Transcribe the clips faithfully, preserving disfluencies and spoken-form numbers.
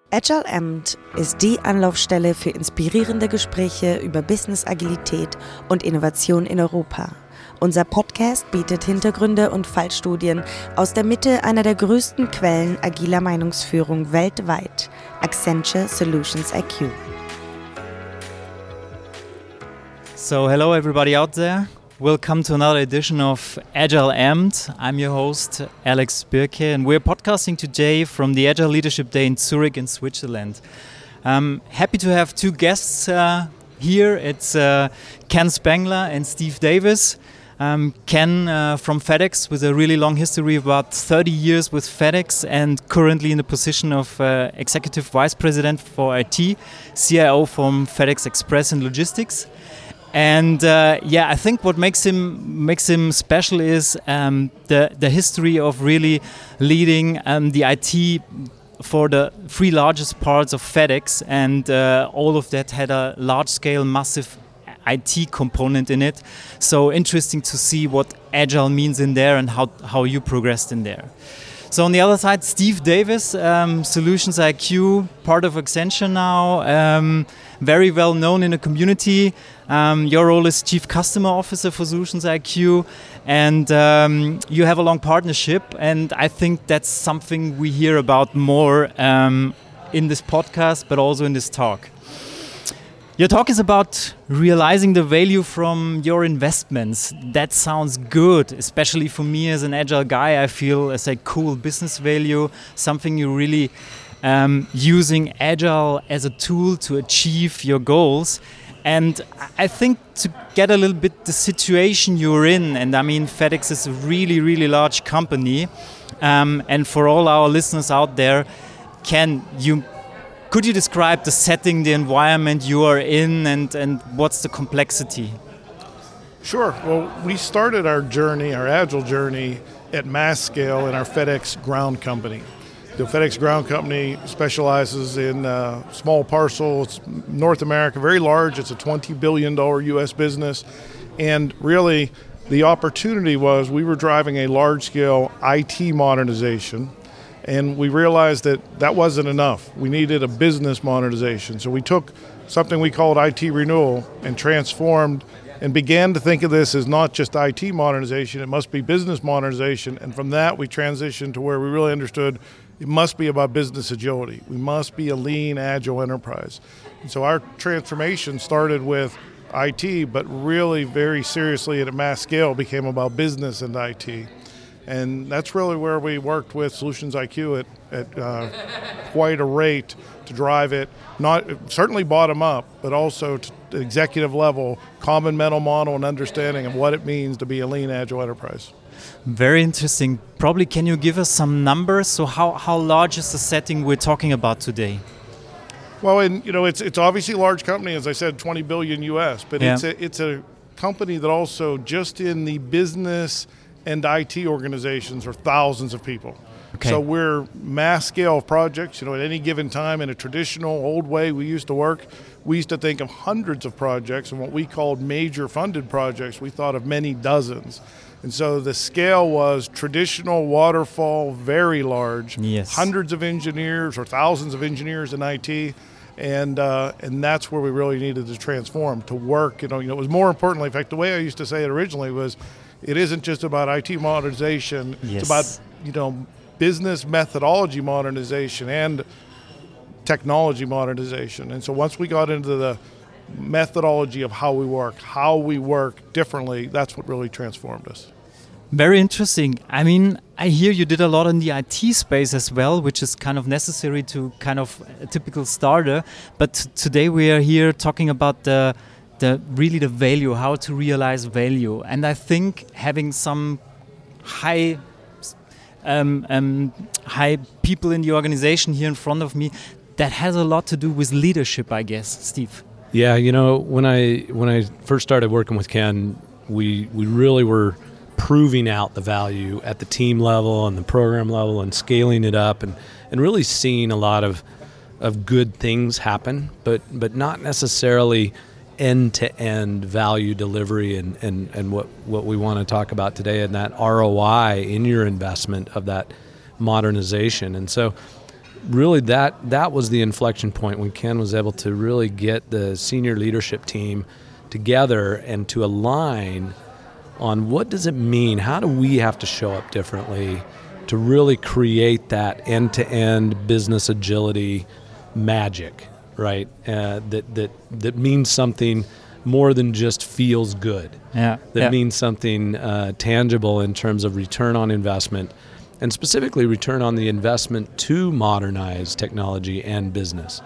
Agile-Amt ist die Anlaufstelle für inspirierende Gespräche über Business-Agilität und Innovation in Europa. Unser Podcast bietet Hintergründe und Fallstudien aus der Mitte einer der größten Quellen agiler Meinungsführung weltweit, Accenture Solutions I Q. So hello everybody out there. Welcome to another edition of Agile-Amt. I'm your host, Alex Birke, and we're podcasting today from the Agile Leadership Day in Zurich in Switzerland. I'm happy to have two guests uh, here. It's uh, Ken Spengler and Steve Davis. Um, Ken uh, from FedEx with a really long history, about thirty years with FedEx, and currently in the position of uh, Executive Vice President for I T, C I O from FedEx Express and Logistics. And uh, yeah, I think what makes him makes him special is um, the the history of really leading um, the I T for the three largest parts of FedEx, and uh, all of that had a large-scale, massive I T component in it. So interesting to see what Agile means in there and how how you progressed in there. So on the other side, Steve Davis, um, Solutions I Q, part of Accenture now, um, very well known in the community. Um, your role is Chief Customer Officer for Solutions I Q, and um, you have a long partnership, and I think that's something we hear about more um, in this podcast, but also in this talk. Your talk is about realizing the value from your investments. That sounds good, especially for me as an agile guy. I feel it's a cool business value, something you really um, using agile as a tool to achieve your goals. And I think to get a little bit the situation you're in, and I mean FedEx is a really, really large company. Um, and for all our listeners out there, can you Could you describe the setting, the environment you are in, and, and what's the complexity? Sure. Well, we started our journey, our Agile journey, at mass scale in our FedEx Ground Company. The FedEx Ground Company specializes in uh, small parcel. It's North America, very large. It's a twenty billion dollars U S business. And really, the opportunity was we were driving a large-scale I T modernization. And we realized that that wasn't enough. We needed a business modernization. So we took something we called I T renewal and transformed and began to think of this as not just I T modernization, it must be business modernization. And from that, we transitioned to where we really understood it must be about business agility. We must be a lean, agile enterprise. And so our transformation started with I T, but really very seriously at a mass scale became about business and I T. And that's really where we worked with Solutions I Q at, at uh, quite a rate to drive it, not certainly bottom up, but also to the executive level, common mental model and understanding of what it means to be a lean, agile enterprise. Very interesting. Probably can you give us some numbers? So how, how large is the setting we're talking about today? Well, and you know, it's it's obviously a large company, as I said, twenty billion U S, but yeah. it's a, it's a company that also just in the business and I T organizations are thousands of people. Okay. So we're mass scale projects. You know, at any given time in a traditional old way we used to work, we used to think of hundreds of projects, and what we called major funded projects, we thought of many dozens. And so the scale was traditional waterfall, very large, yes. hundreds of engineers or thousands of engineers in I T. And uh, and that's where we really needed to transform, to work. You know, you know, it was more importantly, in fact, the way I used to say it originally was, it isn't just about I T modernization. Yes. It's about, you know, business methodology modernization and technology modernization. And so once we got into the methodology of how we work, how we work differently, that's what really transformed us. Very interesting. I mean, I hear you did a lot in the I T space as well, which is kind of necessary to kind of a typical starter. But today we are here talking about the The, really the value, how to realize value. And I think having some high um, um, high people in the organization here in front of me, that has a lot to do with leadership, I guess. Steve? Yeah, you know, when I when I first started working with Ken, we, we really were proving out the value at the team level and the program level and scaling it up and, and really seeing a lot of, of good things happen, but but not necessarily end-to-end value delivery and, and, and what, what we want to talk about today, and that R O I in your investment of that modernization. And so really that that was the inflection point when Ken was able to really get the senior leadership team together and to align on what does it mean, how do we have to show up differently to really create that end-to-end business agility magic, right? Uh, that that that means something more than just feels good. Yeah. That yeah. means something uh, tangible in terms of return on investment, and specifically return on the investment to modernize technology and business.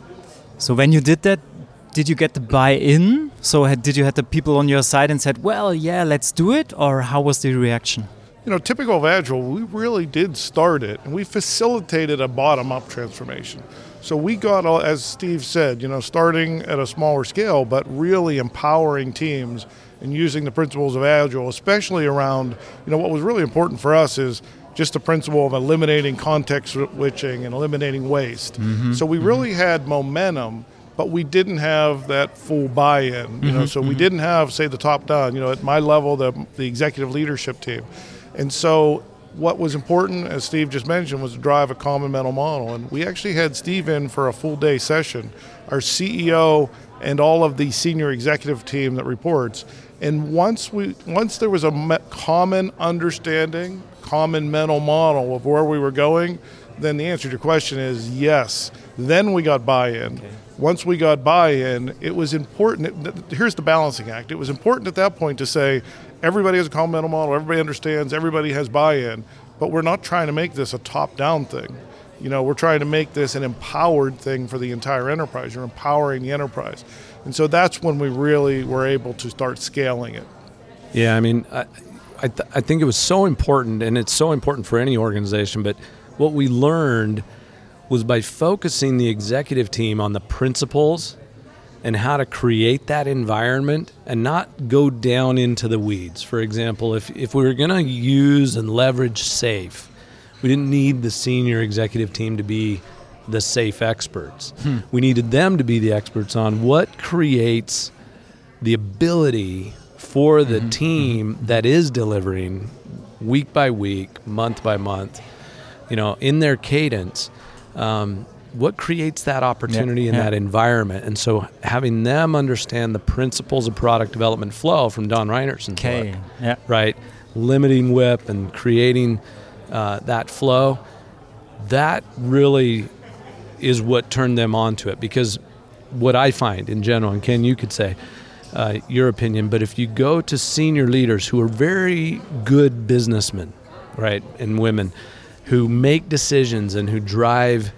So when you did that, did you get the buy-in? So had, did you have the people on your side and said, well, yeah, let's do it? Or how was the reaction? You know, typical of Agile, we really did start it, and we facilitated a bottom-up transformation. So we got, as Steve said, you know, starting at a smaller scale, but really empowering teams and using the principles of Agile, especially around, you know, what was really important for us is just the principle of eliminating context switching and eliminating waste. Mm-hmm. So we really mm-hmm. had momentum, but we didn't have that full buy-in. You mm-hmm. know, so mm-hmm. we didn't have, say, the top down. You know, at my level, the the executive leadership team. And so what was important, as Steve just mentioned, was to drive a common mental model. And we actually had Steve in for a full day session, our C E O and all of the senior executive team that reports. And once we, once there was a me- common understanding, common mental model of where we were going, then the answer to your question is yes. Then we got buy-in. Okay. Once we got buy-in, it was important. It, here's the balancing act. It was important at that point to say, everybody has a common mental model, everybody understands, everybody has buy-in, but we're not trying to make this a top-down thing. You know, we're trying to make this an empowered thing for the entire enterprise. You're empowering the enterprise. And so that's when we really were able to start scaling it. Yeah, I mean, I, I, th- I think it was so important, and it's so important for any organization, but what we learned was by focusing the executive team on the principles and how to create that environment and not go down into the weeds. For example, if, if we were going to use and leverage SAFe, we didn't need the senior executive team to be the SAFe experts. Hmm. We needed them to be the experts on what creates the ability for the mm-hmm. team mm-hmm. that is delivering week by week, month by month, you know, in their cadence, um, what creates that opportunity yeah, in yeah. that environment. And so having them understand the principles of product development flow from Don Reinerson's okay. book, yeah. right? Limiting whip and creating uh, that flow, that really is what turned them onto it. Because what I find in general, and Ken, you could say uh, your opinion, but if you go to senior leaders who are very good businessmen, right, and women who make decisions and who drive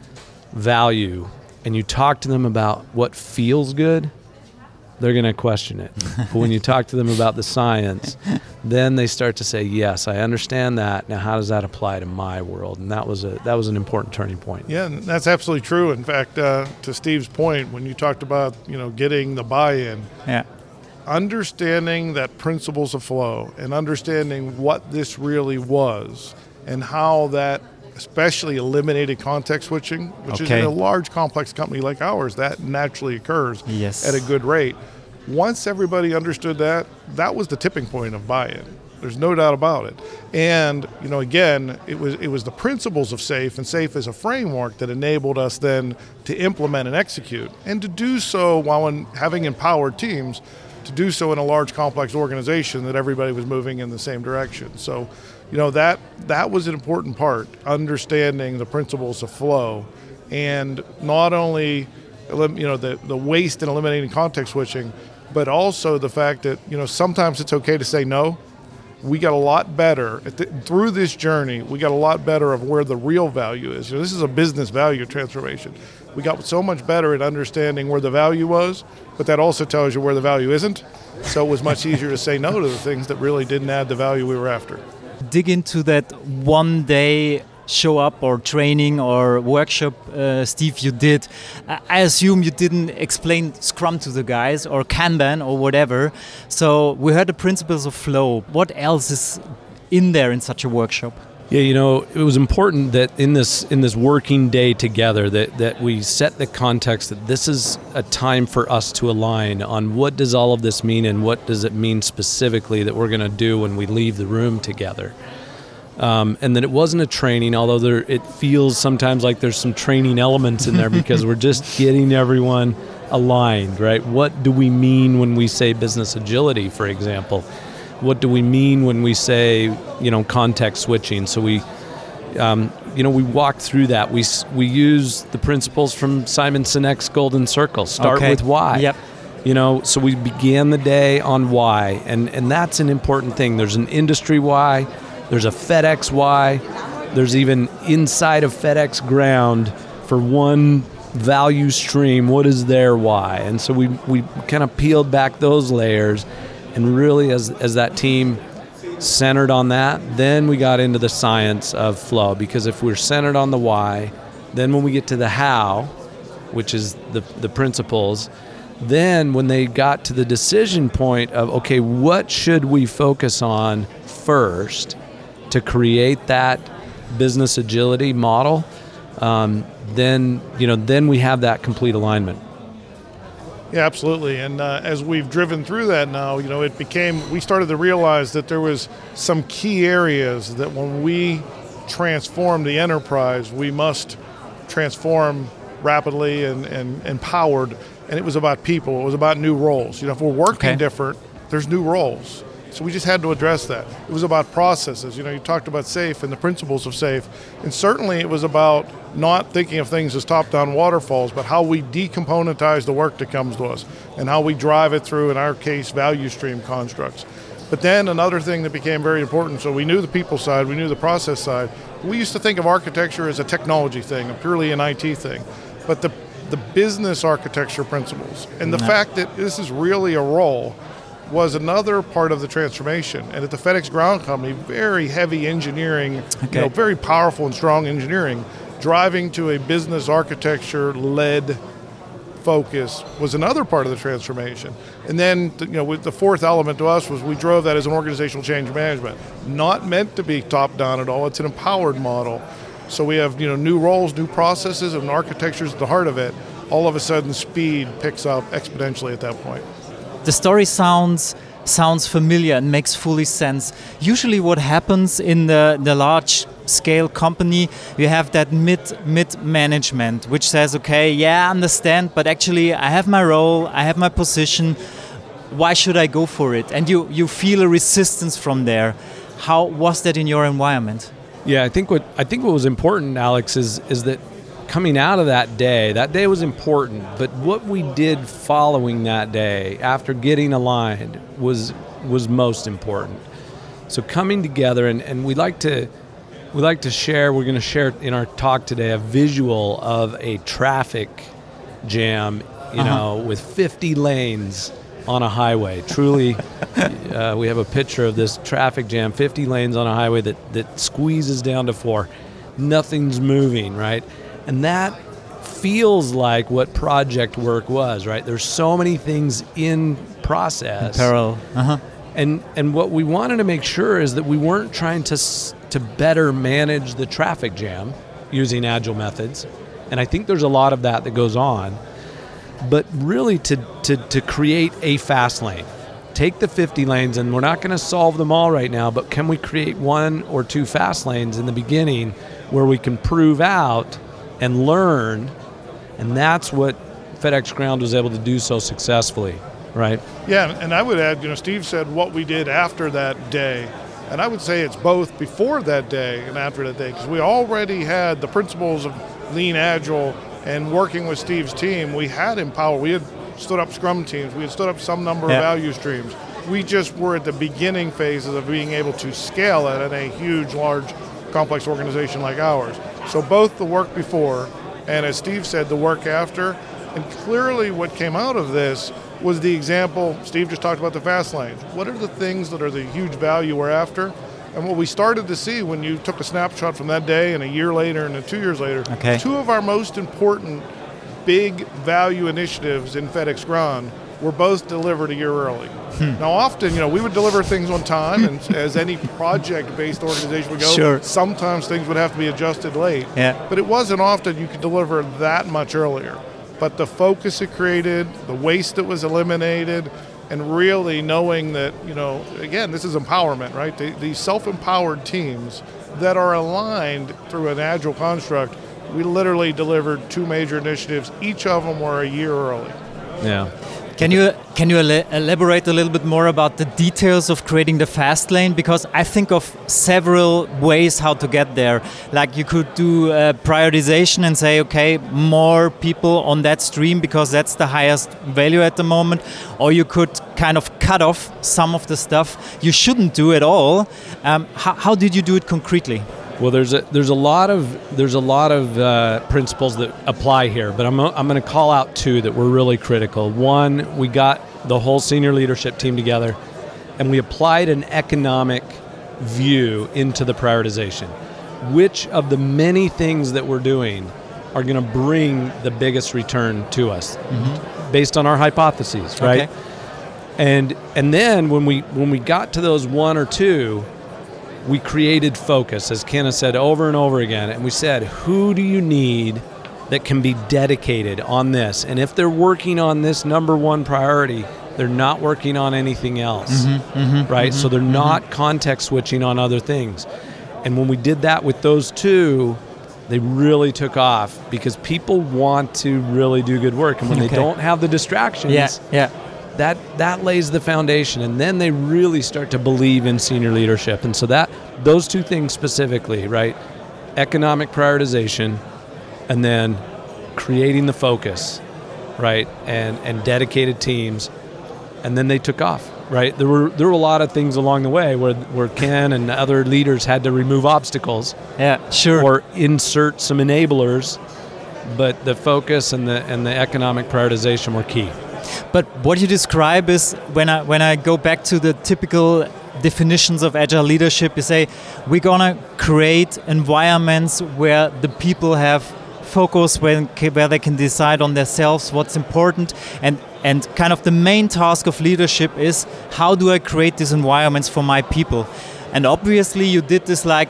value, and you talk to them about what feels good, they're going to question it. But when you talk to them about the science, then they start to say, yes, I understand that. Now, how does that apply to my world? And that was a that was an important turning point. Yeah, and that's absolutely true. In fact, uh, to Steve's point, when you talked about, you know, getting the buy-in, yeah. understanding that principles of flow and understanding what this really was and how that especially eliminated context switching, which okay. is in a large complex company like ours, that naturally occurs yes. at a good rate. Once everybody understood that, that was the tipping point of buy-in. There's no doubt about it. And, you know, again, it was it was the principles of SAFe, and SAFe is a framework that enabled us then to implement and execute, and to do so while in having empowered teams, to do so in a large complex organization that everybody was moving in the same direction. So, you know, that that was an important part, understanding the principles of flow, and not only, you know, the, the waste and eliminating context switching, but also the fact that, you know, sometimes it's okay to say no. We got a lot better at the, through this journey. We got a lot better of where the real value is. You know, this is a business value transformation. We got so much better at understanding where the value was, but that also tells you where the value isn't. So it was much easier to say no to the things that really didn't add the value we were after. Dig into that one day show up or training or workshop, uh, Steve, you did. I assume you didn't explain Scrum to the guys or Kanban or whatever. So we heard the principles of flow. What else is in there in such a workshop? Yeah, you know, it was important that in this in this working day together that, that we set the context that this is a time for us to align on what does all of this mean and what does it mean specifically that we're going to do when we leave the room together. Um, and that it wasn't a training, although there, it feels sometimes like there's some training elements in there because we're just getting everyone aligned, right? What do we mean when we say business agility, for example? What do we mean when we say, you know, context switching? So we, um, you know, we walk through that. We we use the principles from Simon Sinek's Golden Circle. Start okay. with why. Yep. You know, so we began the day on why, and and that's an important thing. There's an industry why. There's a FedEx why. There's even inside of FedEx Ground for one value stream, what is their why? And so we we kind of peeled back those layers, and really as as that team centered on that, then we got into the science of flow, because if we're centered on the why, then when we get to the how, which is the the principles, then when they got to the decision point of, okay, what should we focus on first to create that business agility model, um, then you know then we have that complete alignment. Yeah, absolutely. And uh, as we've driven through that now, you know, it became, we started to realize that there was some key areas that when we transform the enterprise, we must transform rapidly and, and empowered. And it was about people. It was about new roles. You know, if we're working okay. different, there's new roles. So we just had to address that. It was about processes. You know, you talked about SAFe and the principles of SAFe. And certainly it was about not thinking of things as top-down waterfalls, but how we decomponentize the work that comes to us and how we drive it through, in our case, value stream constructs. But then another thing that became very important, so we knew the people side, we knew the process side. We used to think of architecture as a technology thing, a purely an I T thing. But the, the business architecture principles and the no. fact that this is really a role was another part of the transformation. And at the FedEx Ground Company, very heavy engineering, okay. you know, very powerful and strong engineering, driving to a business architecture-led focus was another part of the transformation. And then, you know, with the fourth element to us was we drove that as an organizational change management. Not meant to be top-down at all. It's an empowered model. So we have, you know, new roles, new processes, and architectures at the heart of it. All of a sudden, speed picks up exponentially at that point. The story sounds sounds familiar and makes fully sense. Usually what happens in the, the large scale company, you have that mid mid management which says, okay, yeah, I understand, but actually I have my role, I have my position, why should I go for it? And you, you feel a resistance from there. How was that in your environment? Yeah, I think what I think what was important, Alex, is is that coming out of that day, that day was important, but what we did following that day, after getting aligned, was was most important. So coming together, and, and we like to we like to share, we're going to share in our talk today a visual of a traffic jam, you uh-huh. know, with fifty lanes on a highway. Truly, uh, we have a picture of this traffic jam, fifty lanes on a highway that, that squeezes down to four. Nothing's moving, right? And that feels like what project work was, right? There's so many things in process. In parallel. Uh-huh. And and what we wanted to make sure is that we weren't trying to to better manage the traffic jam using agile methods. And I think there's a lot of that that goes on. But really to to to create a fast lane. Take the fifty lanes, and we're not going to solve them all right now, but can we create one or two fast lanes in the beginning where we can prove out and learn, and that's what FedEx Ground was able to do so successfully, right? Yeah, and I would add, you know, Steve said what we did after that day, and I would say it's both before that day and after that day, because we already had the principles of lean agile, and working with Steve's team, we had empowered, we had stood up scrum teams, we had stood up some number yeah. of value streams. We just were at the beginning phases of being able to scale it in a huge, large, complex organization like ours. So both the work before and, as Steve said, the work after, and clearly what came out of this was the example, Steve just talked about the fast lanes. What are the things that are the huge value we're after? And what we started to see when you took a snapshot from that day and a year later and two years later, okay. two of our most important big value initiatives in FedEx Ground were both delivered a year early. Hmm. Now often, you know, we would deliver things on time, and as any project-based organization would go, sure. sometimes things would have to be adjusted late. Yeah. But it wasn't often you could deliver that much earlier. But the focus it created, the waste that was eliminated, and really knowing that, you know, again, this is empowerment, right? The, these self-empowered teams that are aligned through an agile construct. We literally delivered two major initiatives. Each of them were a year early. Yeah. Can you can you el- elaborate a little bit more about the details of creating the fast lane? Because I think of several ways how to get there. Like you could do uh, prioritization and say, okay, more people on that stream because that's the highest value at the moment. Or you could kind of cut off some of the stuff you shouldn't do at all. Um, how, how did you do it concretely? Well, there's a there's a lot of there's a lot of uh, principles that apply here, but I'm I'm going to call out two that were really critical. One, we got the whole senior leadership team together, and we applied an economic view into the prioritization. Which of the many things that we're doing are going to bring the biggest return to us, mm-hmm. based on our hypotheses, right? Okay. And and then when we when we got to those one or two, we created focus, as Ken has said over and over again, and we said, who do you need that can be dedicated on this? And if they're working on this number one priority, they're not working on anything else, mm-hmm, mm-hmm, right? Mm-hmm, so they're mm-hmm. not context switching on other things. And when we did that with those two, they really took off because people want to really do good work. And when okay. they don't have the distractions, yeah, yeah. that that lays the foundation, and then they really start to believe in senior leadership. And so that those two things specifically, right? Economic prioritization, and then creating the focus, right? And and dedicated teams, and then they took off, right? There were there were a lot of things along the way where where Ken and other leaders had to remove obstacles, yeah, sure, or insert some enablers, but the focus and the and the economic prioritization were key. But what you describe is when I when I go back to the typical definitions of agile leadership, you say we're gonna create environments where the people have focus, where, where they can decide on themselves what's important, and and kind of the main task of leadership is how do I create these environments for my people? And obviously you did this like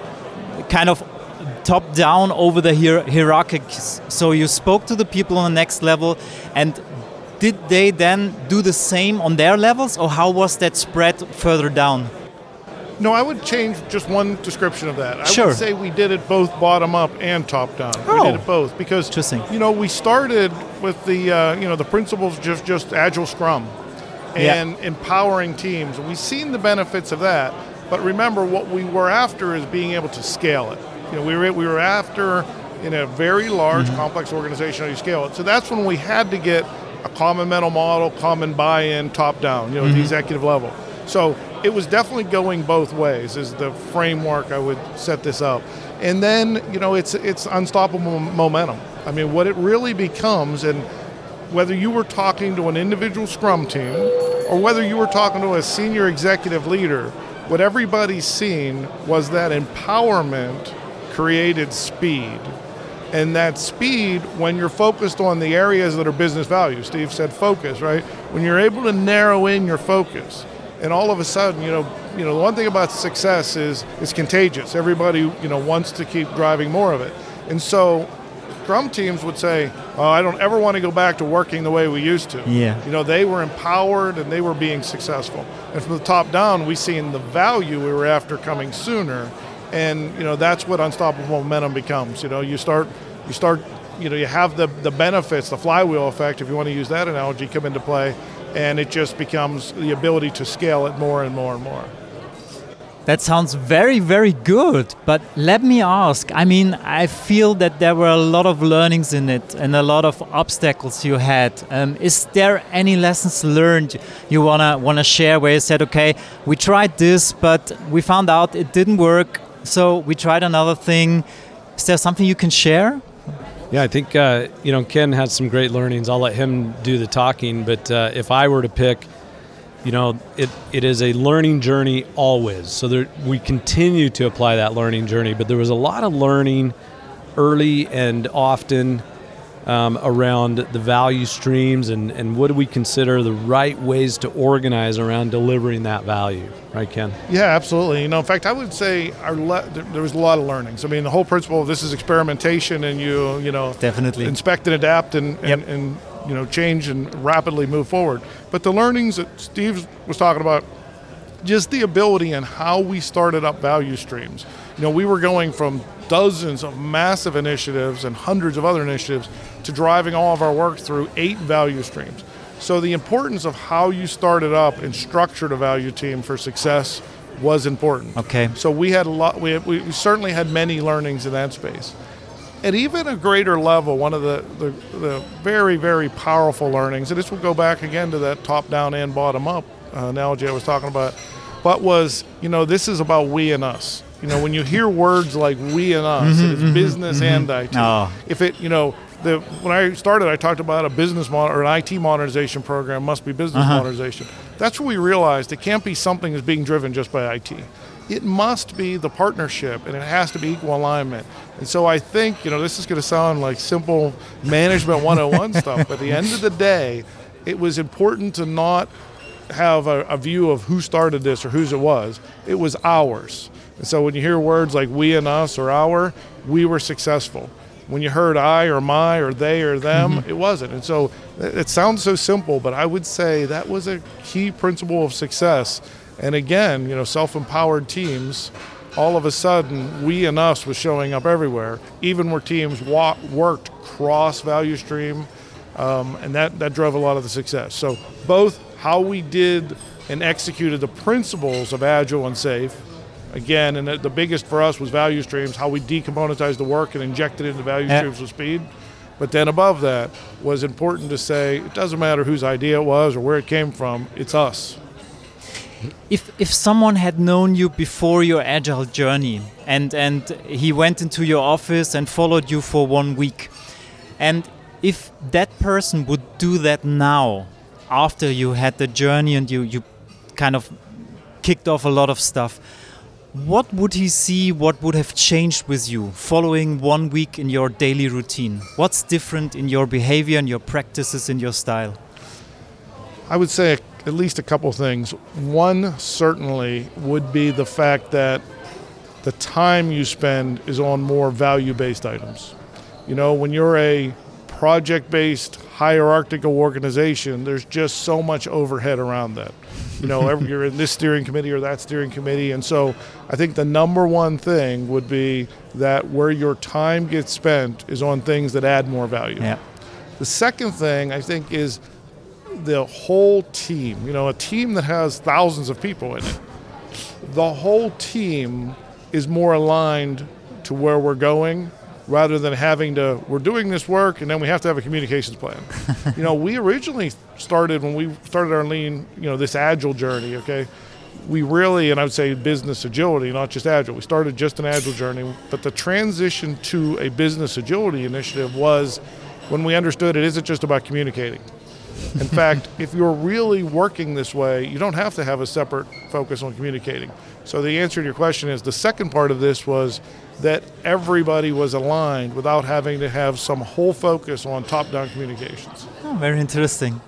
kind of top down over the hier- hierarchies. So you spoke to the people on the next level, and did they then do the same on their levels, or how was that spread further down? No, I would change just one description of that. I sure. would say we did it both bottom up and top down. Oh. We did it both because, Interesting. you know, we started with the, uh, you know, the principles just just Agile Scrum and yeah. empowering teams. And we've seen the benefits of that. But remember, what we were after is being able to scale it. You know, we were we were after in a very large, mm-hmm. complex organization how you scale it. So that's when we had to get a common mental model, common buy-in, top-down, you know, mm-hmm. at the executive level. So it was definitely going both ways is the framework I would set this up. And then, you know, it's it's unstoppable momentum. I mean, what it really becomes, and whether you were talking to an individual Scrum team or whether you were talking to a senior executive leader, what everybody's seen was that empowerment created speed. And that speed, when you're focused on the areas that are business value, Steve said focus, right? When you're able to narrow in your focus, and all of a sudden, you know, you know, the one thing about success is it's contagious. Everybody, you know, wants to keep driving more of it. And so Scrum teams would say, oh, I don't ever want to go back to working the way we used to. Yeah. You know, they were empowered and they were being successful. And from the top down, we seen the value we were after coming sooner. And, you know, that's what unstoppable momentum becomes. You know, you start, you start, you know, you have the, the benefits, the flywheel effect, if you want to use that analogy, come into play, and it just becomes the ability to scale it more and more and more. That sounds very, very good. But let me ask, I mean, I feel that there were a lot of learnings in it and a lot of obstacles you had. Um, is there any lessons learned you wanna wanna share where you said, okay, we tried this, but we found out it didn't work, so we tried another thing. Is there something you can share? Yeah, I think, uh, you know, Ken has some great learnings. I'll let him do the talking, but uh, if I were to pick, you know, it, it is a learning journey always. So there, we continue to apply that learning journey, but there was a lot of learning early and often um, around the value streams and, and what do we consider the right ways to organize around delivering that value. Right, Ken? Yeah, absolutely. You know, in fact, I would say our le- there was a lot of learnings. I mean, the whole principle of this is experimentation and you, you know, definitely inspect and adapt and, and, yep. and you know, change and rapidly move forward. But the learnings that Steve was talking about, just the ability and how we started up value streams. You know, we were going from dozens of massive initiatives and hundreds of other initiatives to driving all of our work through eight value streams. So the importance of how you started up and structured a value team for success was important. Okay. So we had a lot. We, we certainly had many learnings in that space. At even a greater level, one of the, the, the very, very powerful learnings, and this will go back again to that top-down and bottom-up uh, analogy I was talking about, but was, you know, this is about we and us. You know, when you hear words like we and us, mm-hmm, it's mm-hmm, business mm-hmm. and I T. Oh. If it, you know, the when I started, I talked about a business mod- or an I T modernization program must be business uh-huh. modernization. That's where we realized it can't be something that's being driven just by I T. It must be the partnership, and it has to be equal alignment. And so I think, you know, this is going to sound like simple management one oh one stuff, but at the end of the day, it was important to not have a, a view of who started this or whose it was. It was ours. And so when you hear words like we and us or our, we were successful. When you heard I or my or they or them, mm-hmm. it wasn't. And so it sounds so simple, but I would say that was a key principle of success. And again, you know, self-empowered teams, all of a sudden, we and us was showing up everywhere, even where teams wa- worked cross-value stream, um, and that, that drove a lot of the success. So both how we did and executed the principles of Agile and SAFe, again, and the, the biggest for us was value streams, how we decomponentized the work and injected it into value yeah. streams with speed. But then above that was important to say, it doesn't matter whose idea it was or where it came from, it's us. If if someone had known you before your Agile journey and, and he went into your office and followed you for one week, and if that person would do that now, after you had the journey and you, you kind of kicked off a lot of stuff, what would he see, what would have changed with you following one week in your daily routine? What's different in your behavior and your practices and your style? I would say at least a couple things. One certainly would be the fact that the time you spend is on more value-based items. You know, when you're a project-based hierarchical organization, there's just so much overhead around that. You know, every, you're in this steering committee or that steering committee. And so I think the number one thing would be that where your time gets spent is on things that add more value. Yeah. The second thing I think is the whole team, you know, a team that has thousands of people in it, the whole team is more aligned to where we're going rather than having to, we're doing this work and then we have to have a communications plan. You know, we originally started, when we started our lean, you know, this Agile journey, okay, we really, and I would say business agility, not just Agile. We started just an Agile journey, but the transition to a business agility initiative was when we understood it isn't just about communicating. In fact, if you're really working this way, you don't have to have a separate focus on communicating. So the answer to your question is, the second part of this was that everybody was aligned without having to have some whole focus on top-down communications. Oh, very interesting.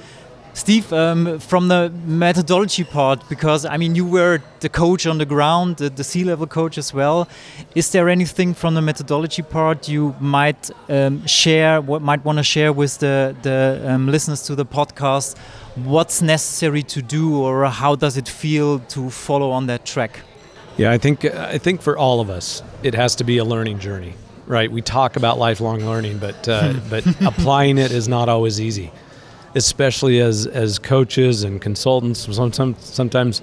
Steve, um, from the methodology part, because I mean you were the coach on the ground, the, the C-level coach as well. Is there anything from the methodology part you might um, share, what might want to share with the, the um, listeners to the podcast? What's necessary to do, or how does it feel to follow on that track? Yeah, I think I think for all of us, it has to be a learning journey, right? We talk about lifelong learning, but uh, but applying it is not always easy. Especially as, as coaches and consultants, sometimes, sometimes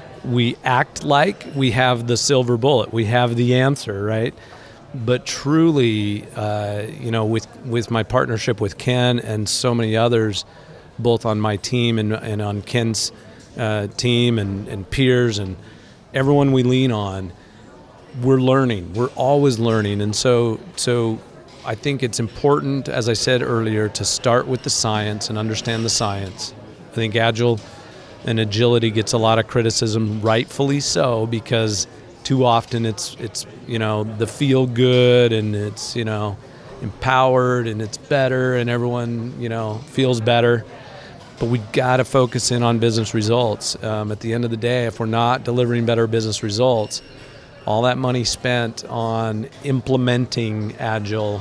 we act like we have the silver bullet, we have the answer, right? But truly, uh, you know, with with my partnership with Ken and so many others, both on my team and, and on Ken's uh, team and, and peers and everyone we lean on, we're learning. We're always learning, and so so. I think it's important, as I said earlier, to start with the science and understand the science. I think Agile and agility gets a lot of criticism, rightfully so, because too often it's it's you know the feel good and it's you know empowered and it's better and everyone you know feels better. But we got to focus in on business results. Um, at the end of the day, if we're not delivering better business results, all that money spent on implementing Agile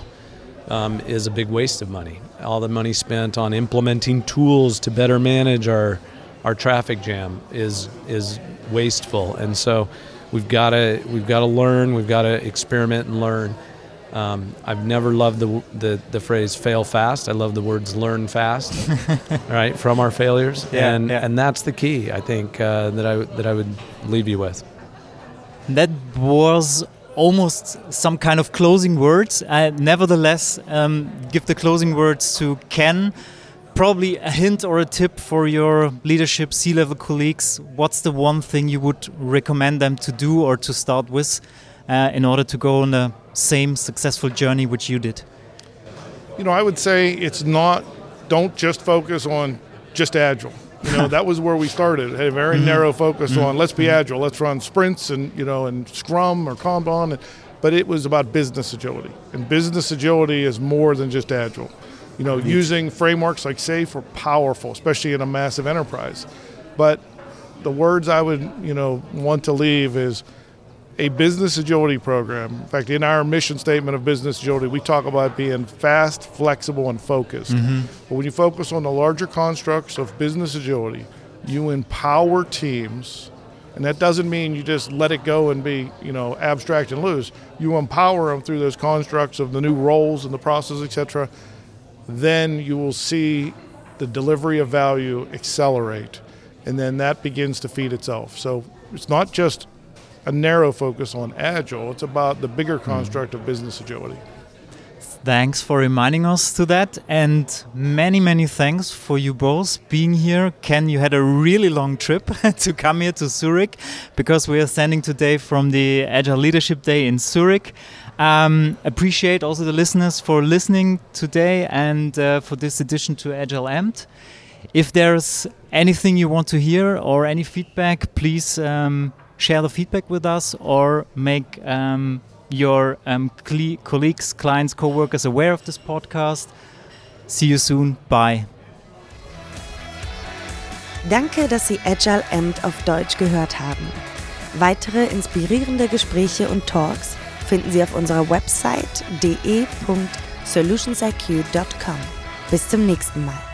Um, is a big waste of money. All the money spent on implementing tools to better manage our our traffic jam is is wasteful, and so we've got to we've got to learn, we've got to experiment and learn. Um, I've never loved the, the the phrase "fail fast." I love the words "learn fast," right, from our failures, yeah, and yeah. and that's the key. I think uh, that I that I would leave you with. That was almost some kind of closing words. I nevertheless um, give the closing words to Ken. Probably a hint or a tip for your leadership C-level colleagues. What's the one thing you would recommend them to do or to start with uh, in order to go on the same successful journey which you did? You know, I would say it's not, don't just focus on just Agile. You know, that was where we started. Had a very mm-hmm. narrow focus mm-hmm. on let's be Agile, let's run sprints and, you know, and Scrum or Kanban. But it was about business agility. And business agility is more than just Agile. You know, using frameworks like SAFe are powerful, especially in a massive enterprise. But the words I would, you know, want to leave is a business agility program. In fact, in our mission statement of business agility, we talk about being fast, flexible, and focused. Mm-hmm. But when you focus on the larger constructs of business agility, you empower teams, and that doesn't mean you just let it go and be, you know, abstract and loose. You empower them through those constructs of the new roles and the process, et cetera. Then you will see the delivery of value accelerate, and then that begins to feed itself. So it's not just a narrow focus on Agile, it's about the bigger construct of business agility. Thanks for reminding us to that, and many, many thanks for you both being here. Ken, you had a really long trip to come here to Zurich, because we are standing today from the Agile Leadership Day in Zurich. Um, appreciate also the listeners for listening today and uh, for this edition to Agile Amped. If there's anything you want to hear or any feedback, please um, share the feedback with us or make um, your um, cle- colleagues, clients, co-workers aware of this podcast. See you soon. Bye. Danke, dass Sie Agile Amped auf Deutsch gehört haben. Weitere inspirierende Gespräche und Talks finden Sie auf unserer Website d e punkt solutions i q punkt com. Bis zum nächsten Mal.